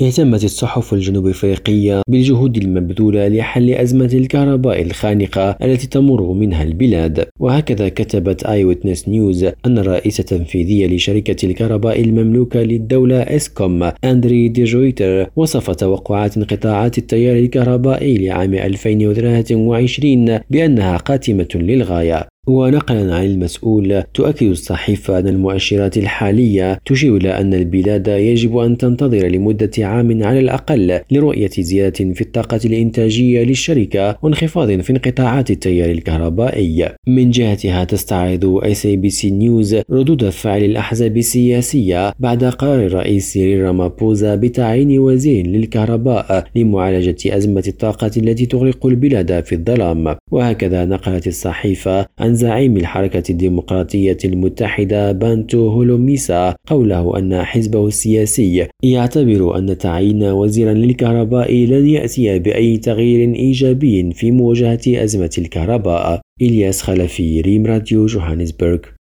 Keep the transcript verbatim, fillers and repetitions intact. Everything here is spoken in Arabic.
اهتمت الصحف الجنوب أفريقية بالجهود المبذولة لحل أزمة الكهرباء الخانقة التي تمر منها البلاد، وهكذا كتبت آي ويتنس نيوز أن الرئيس التنفيذي لشركة الكهرباء المملوكة للدولة إسكوم أندري دي جويتر وصف توقعات انقطاعات التيار الكهربائي لعام ألفين وثلاثة وعشرين بأنها قاتمة للغاية. ونقلا عن المسؤول، تؤكد الصحيفة أن المؤشرات الحالية تشير إلى أن البلاد يجب أن تنتظر لمدة عام على الأقل لرؤية زيادة في الطاقة الإنتاجية للشركة وانخفاض في انقطاعات التيار الكهربائي. من جهتها تستعرض إس إيه بي سي نيوز ردود فعل الأحزاب السياسية بعد قرار الرئيس سيريل رامابوزا بتعيين وزير للكهرباء لمعالجة أزمة الطاقة التي تغرق البلاد في الظلام. وهكذا نقلت الصحيفة عن زعيم الحركة الديمقراطية المتحدة بانتو هولوميسا قوله أن حزبه السياسي يعتبر أن تعيين وزيرا للكهرباء لن يأتي بأي تغيير إيجابي في مواجهة أزمة الكهرباء. إلياس خلفي، ريم راديو، جوهانسبرغ.